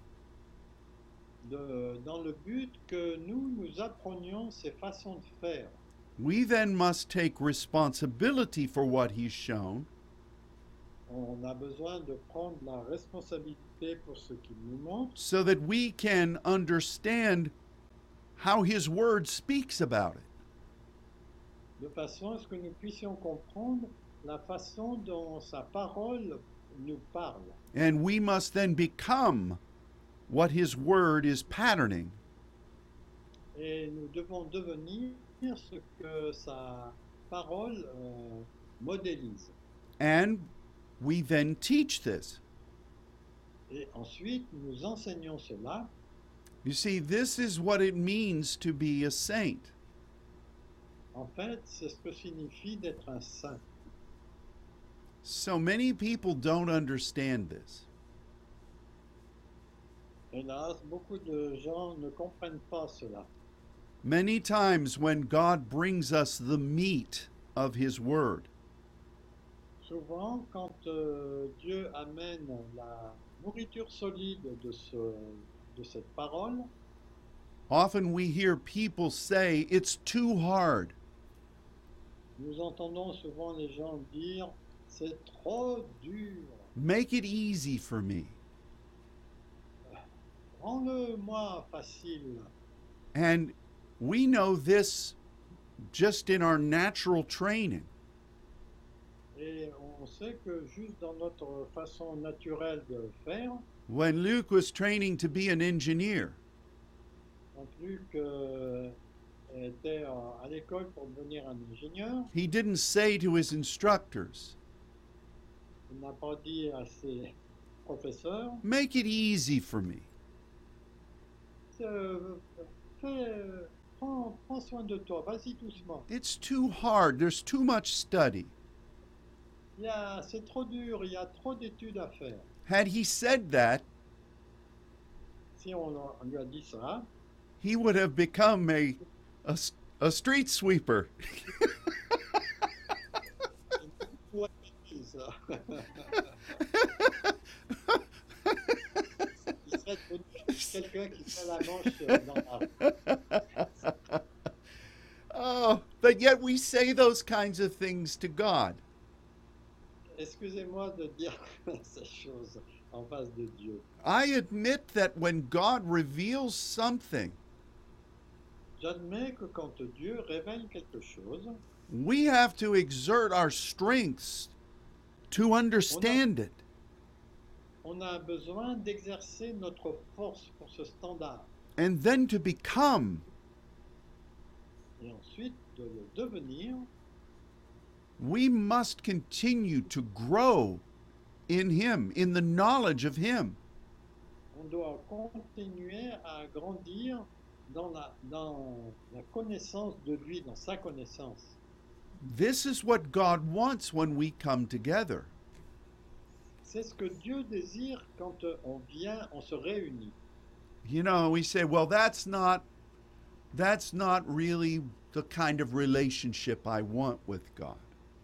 dans le but que nous apprenions ses façons de faire. We then must take responsibility for what he's shown On a besoin de prendre la responsabilité pour ce qu'il nous montre, so that we can understand how his word speaks about it. de façon à ce que nous puissions comprendre la façon dont sa parole nous parle. And we must then become what his word is patterning. Et nous devons devenir ce que sa parole modélise. And we then teach this. Et ensuite, nous enseignons cela. You see, this is what it means to be a saint. En fait, c'est ce que signifie d'être un saint. So many people don't understand this. Hélas, beaucoup de gens ne comprennent pas cela. Many times when God brings us the meat of his word, Souvent, quand Dieu amène la nourriture solide de cette parole, often we hear people say, it's too hard. nous entendons souvent les gens dire « c'est trop dur, Make it easy for me. rends-le-moi facile ». And we know this just in our natural training. Et on sait que juste dans notre façon naturelle de faire, When Luke was training to be an engineer, quand Luc était à l'école pour devenir un ingénieur, he didn't say to his instructors, il n'a pas dit à ses professeurs make it easy for me. Prends soin de toi, vas-y doucement. It's too hard. There's too much study. C'est trop dur, il y a trop d'études à faire. Had he said that, Si on lui a dit ça, he would have become a street sweeper. ouais, c'est ça. Il serait devenu quelqu'un gars qui fait la manche dans la... Oh, but yet we say those kinds of things to God. Excusez-moi de dire ces choses en face de Dieu. I admit that when God reveals something, J'admets que quand Dieu révèle quelque chose, we have to exert our strengths to understand it. on a besoin d'exercer notre force pour ce standard And then to become. et ensuite de le devenir. We must continue to grow in Him, in the knowledge of Him. On doit continuer à grandir dans la connaissance de lui, dans sa connaissance. This is what God wants when we come together. C'est ce que Dieu désire quand on vient, on se réunit. You know, we say, well, that's not really the kind of relationship I want with God.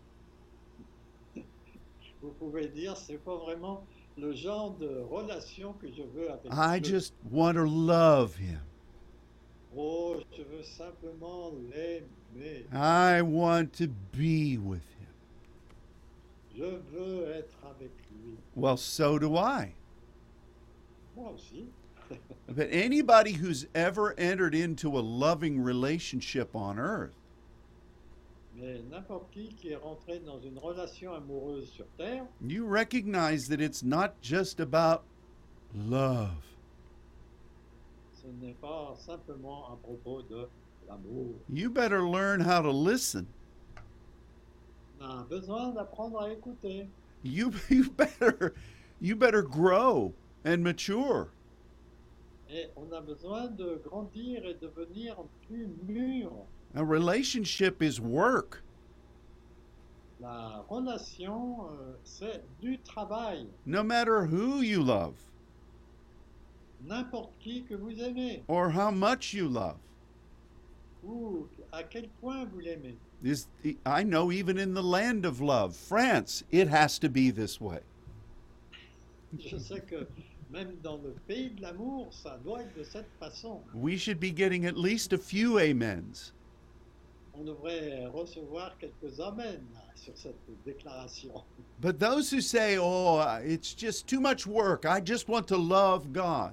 Vous pouvez dire, c'est pas vraiment le genre de relation que je veux avec I Dieu. just want to love Him. Oh, je veux simplement l'aimer. I want to be with Him. Je veux être avec lui. Well, so do I. Moi aussi. But anybody who's ever entered into a loving relationship on earth Mais n'importe qui est rentré dans une relation amoureuse sur Terre, you recognize that it's not just about love. ce n'est pas simplement à propos de l'amour. You better learn how to listen. On a besoin d'apprendre à écouter. You better grow and mature. Et on a besoin de grandir et devenir plus mûr. A relationship is work. La relation, c'est du travail. No matter who you love N'importe qui que vous aimez, or how much you love. ou à quel point vous l'aimez. I know even in the land of love, France, it has to be this way. Je sais que même dans le pays de l'amour, ça doit être de cette façon. We should be getting at least a few amens. On devrait recevoir quelques amens là, sur cette déclaration. But those who say, oh, it's just too much work, I just want to love God.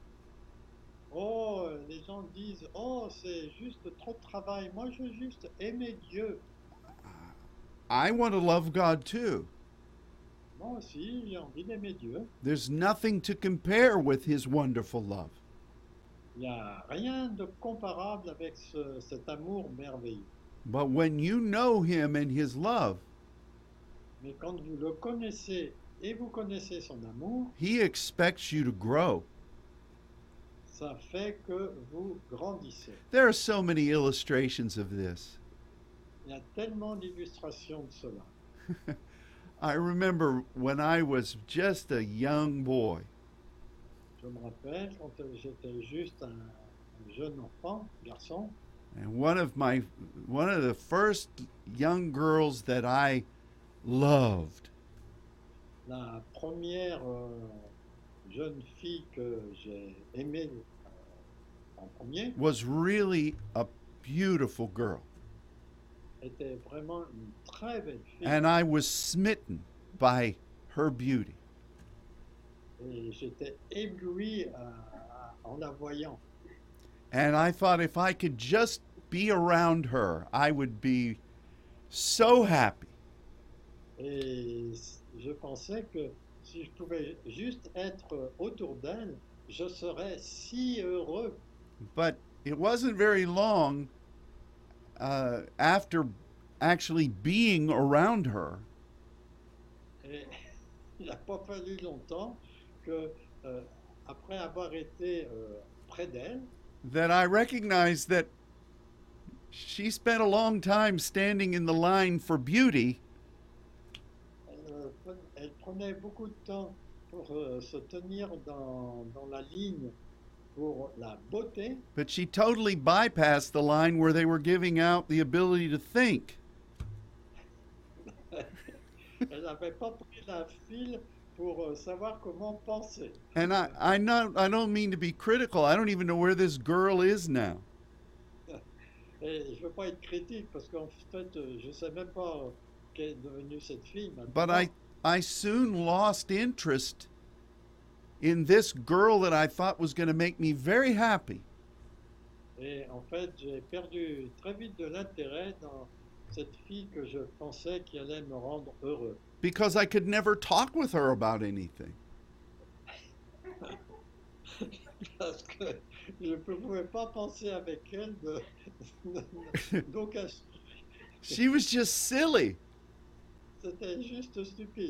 Oh, les gens disent, oh, c'est juste trop de travail. Moi, je veux juste aimer Dieu. I want to love God too. Moi aussi, j'ai envie d'aimer Dieu. There's nothing to compare with His wonderful love. Il n'y a rien de comparable avec cet amour merveilleux. But when you know Him and His love, Mais quand vous le connaissez et vous connaissez son amour, He expects you to grow. ça fait que vous grandissez. There are so many illustrations of this. Il y a tellement d'illustrations de cela. I remember when I was just a young boy, Je me rappelle quand j'étais juste un jeune enfant, garçon, and one of the first young girls that I loved la première jeune fille que j'ai aimée en premier was really a beautiful girl. était vraiment une très belle fille. And I was smitten by her beauty. Et j'étais ébloui en la voyant. And I thought if I could just be around her, I would be so happy. Et je pensais que si je pouvais juste être autour d'elle, je serais si heureux. But it wasn't very long after actually being around her Et il n'a pas fallu longtemps que, après avoir été près d'elle, that I recognized that she spent a long time standing in the line for beauty, elle prenait beaucoup de temps pour se tenir dans la ligne pour la beauté, but she totally bypassed the line where they were giving out the ability to think. elle n'avait pas pris la file pour savoir comment penser. And I don't mean to be critical. I don't even know where this girl is now. Et je ne veux pas être critique parce qu'en fait, je ne sais même pas qu'elle est devenue cette fille But maintenant. I soon lost interest in this girl that I thought was going to make me very happy. Et en fait, j'ai perdu très vite de l'intérêt dans cette fille que je pensais qui allait me rendre heureux. Because I could never talk with her about anything. Parce que je ne pouvais pas penser avec elle d'aucun sujet. She was just silly. C'était juste stupide.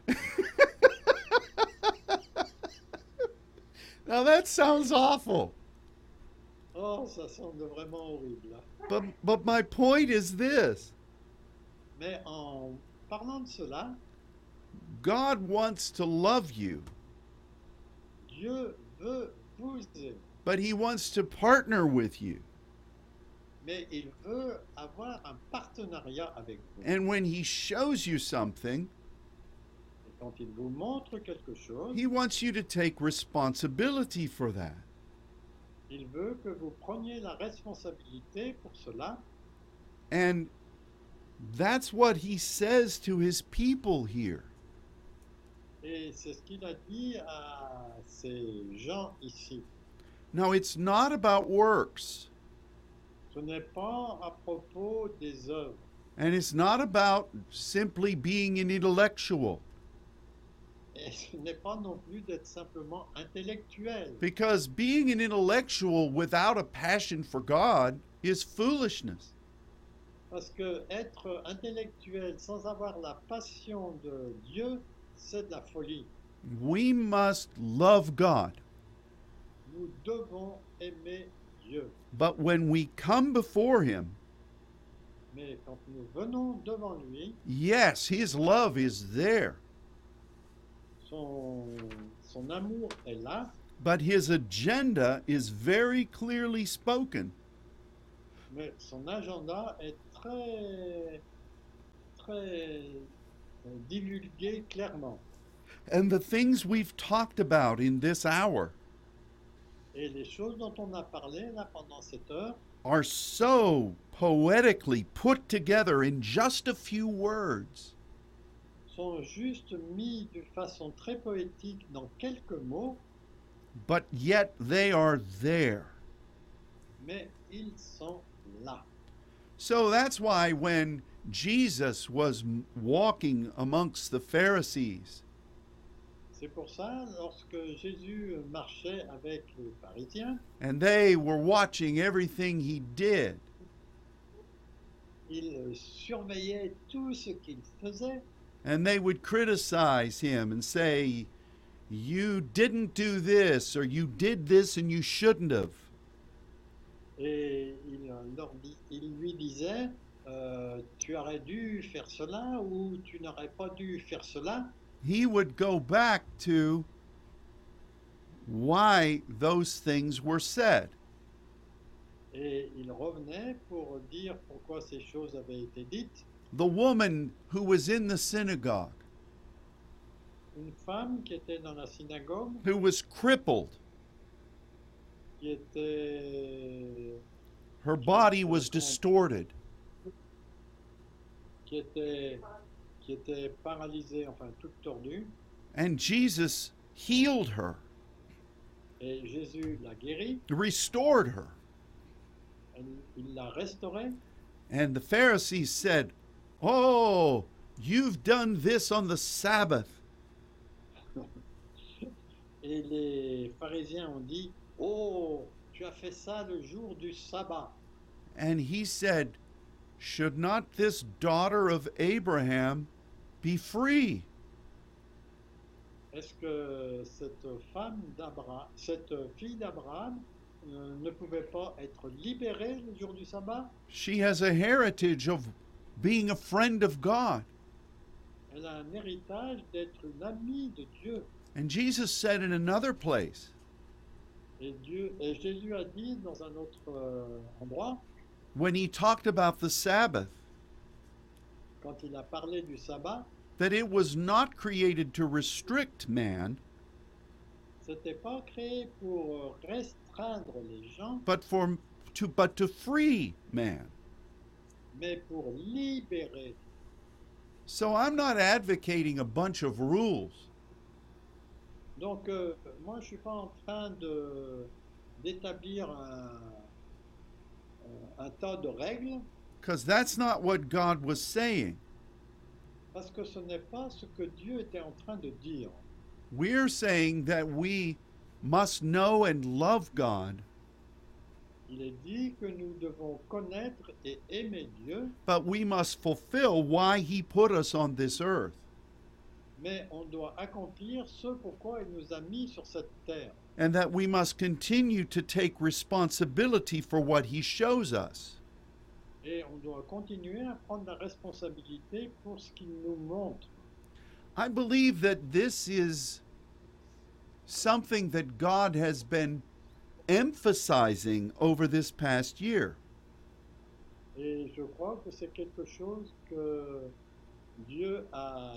Now that sounds awful. Oh, ça semble vraiment horrible. But my point is this. Mais en parlant de cela, God wants to love you, Dieu veut vous aimer, but he wants to partner with you. mais il veut avoir un partenariat avec vous. And when he shows you something, Et quand il vous montre quelque chose, he wants you to take responsibility for that. il veut que vous preniez la responsabilité pour cela. And that's what he says to his people here. Et c'est ce qu'il a dit à ces gens ici. Now, it's not about works, Ce n'est pas à propos des œuvres. and it's not about simply being an intellectual, Et ce n'est pas non plus d'être simplement intellectuel. because being an intellectual without a passion for God is foolishness. Parce que être intellectuel sans avoir la passion de Dieu, c'est de la folie. We must love God. Nous devons aimer Dieu. But when we come before him, Mais quand nous venons devant lui, yes, his love is there, son amour est là, but his agenda is very clearly spoken. mais son agenda est très divulgué clairement. And the things we've talked about in this hour Et les choses dont on a parlé là pendant cette heure are so poetically put together in just a few words. sont juste mis de façon très poétique dans quelques mots, But yet they are there. mais ils sont là. So that's why when Jesus was walking amongst the Pharisees, C'est pour ça, lorsque Jésus marchait avec les pharisiens, and they were watching everything he did, il surveillait tout ce qu'il faisait, and they would criticize him and say, "You didn't do this," or "You did this and you shouldn't have." et il lui disait, tu aurais dû faire cela ou tu n'aurais pas dû faire cela. He would go back to why those things were said. Et il revenait pour dire pourquoi ces choses avaient été dites. The woman who was in the synagogue, Une femme qui était dans la synagogue, who was crippled, qui était, her body was distorted, qui était paralysée, enfin toute tordue, and Jesus healed her, et Jésus l'a guérie, restored her. il l'a restaurée. And the Pharisees said, "Oh, you've done this on the Sabbath." Et les pharisiens ont dit, oh, tu as fait ça le jour du sabbat. And he said, "Should not this daughter of Abraham be free?" Est-ce que cette fille d'Abraham ne pouvait pas être libérée le jour du sabbat? She has a heritage of being a friend of God. Elle a un héritage d'être une amie de Dieu. And Jesus said in another place, Et Jésus a dit dans un autre endroit, when he talked about the Sabbath, quand il a parlé du sabbat, that it was not created to restrict man, C'était pas créé pour restreindre les gens, but to free man. mais pour libérer. So I'm not advocating a bunch of rules. Donc, moi, je suis pas en train d'établir un tas de règles, Because that's not what God was saying. parce que ce n'est pas ce que Dieu était en train de dire. We're saying that we must know and love God, Il est dit que nous devons connaître et aimer Dieu, but we must fulfill why He put us on this earth. mais on doit accomplir ce pourquoi il nous a mis sur cette terre. And that we must continue to take responsibility for what He shows us. Et on doit continuer à prendre la responsabilité pour ce qu'il nous montre. I believe that this is something that God has been emphasizing over this past year. Et je crois que c'est quelque chose que Dieu a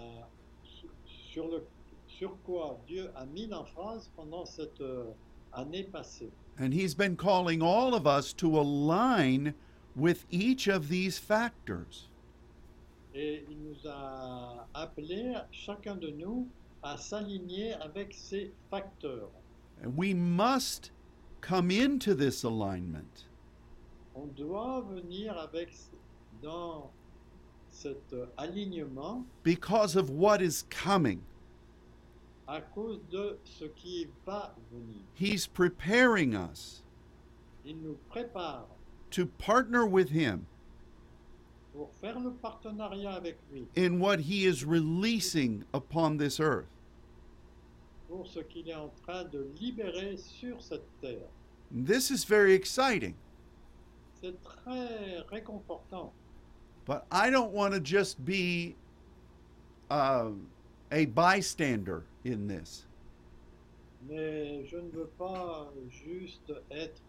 sur quoi Dieu a mis l'emphase pendant cette année passée. And He's been calling all of us to align with each of these factors. Et il nous a appelés, chacun de nous, à s'aligner avec ces facteurs. And we must come into this alignment On doit venir dans cet alignement because of what is coming. à cause de ce qui va venir. He's preparing us Il nous prépare to partner with Him pour faire le partenariat avec lui, in what He is releasing upon this earth. pour ce qu'il est en train de libérer sur cette terre. This is very exciting, C'est très réconfortant. but I don't want to just be a bystander in this. Mais je ne veux pas juste être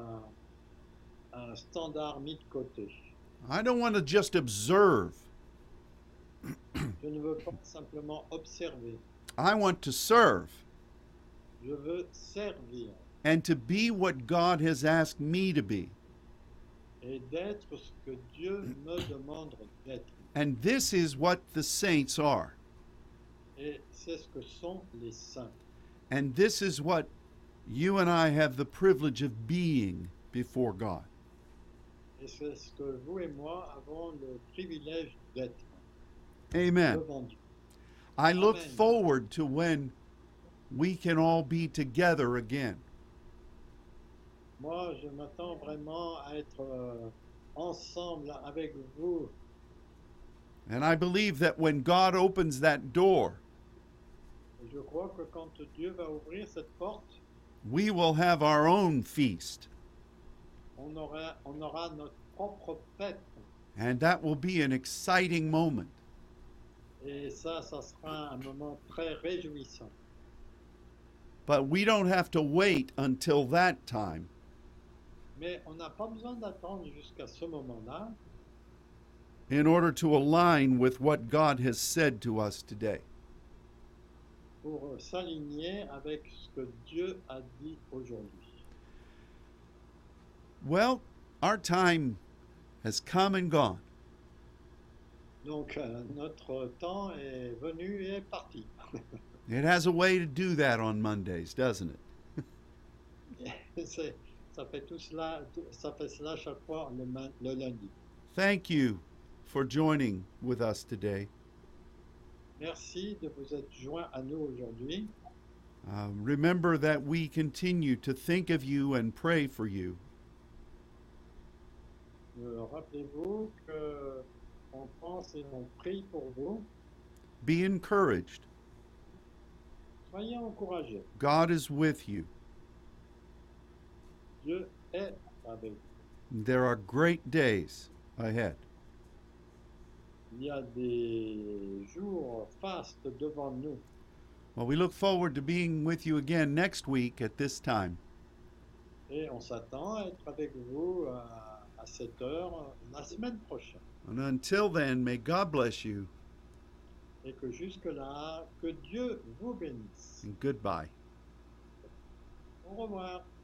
un standard mis de côté. I don't want to just observe. Je ne veux pas simplement observer. I want to serve Je veux servir and to be what God has asked me to be. et d'être ce que Dieu me demande d'être. And this is what the saints are. Et c'est ce que sont les saints. And this is what you and I have the privilege of being before God. Et c'est ce que vous et moi avons le privilège d'être Amen. devant Dieu. I look Amen. forward to when we can all be together again. Moi, je m'attends vraiment à être ensemble avec vous. And I believe that when God opens that door, Et je crois que quand Dieu va ouvrir cette porte, we will have our own feast. on aura notre propre fête. And that will be an exciting moment. Et ça sera un moment très réjouissant. But we don't have to wait until that time Mais on n'a pas besoin d'attendre jusqu'à ce moment-là in order to align with what God has said to us today. pour s'aligner avec ce que Dieu a dit aujourd'hui. Well, our time has come and gone. Donc, notre temps est venu et est parti. It has a way to do that on Mondays, doesn't it? Ça fait cela chaque fois le lundi. Thank you for joining with us today. Merci de vous être joints à nous aujourd'hui. Remember that we continue to think of you and pray for you. Rappelez-vous que on pense et on prie pour vous. Be encouraged. Soyez encouragés. God is with you. Dieu est avec vous. There are great days ahead. Il y a des jours fastes devant nous. Well, we look forward to being with you again next week at this time. Et on s'attend à être avec vous à cette heure la semaine prochaine. And until then, may God bless you. Et que jusque-là, que Dieu vous bénisse. and goodbye. Au revoir.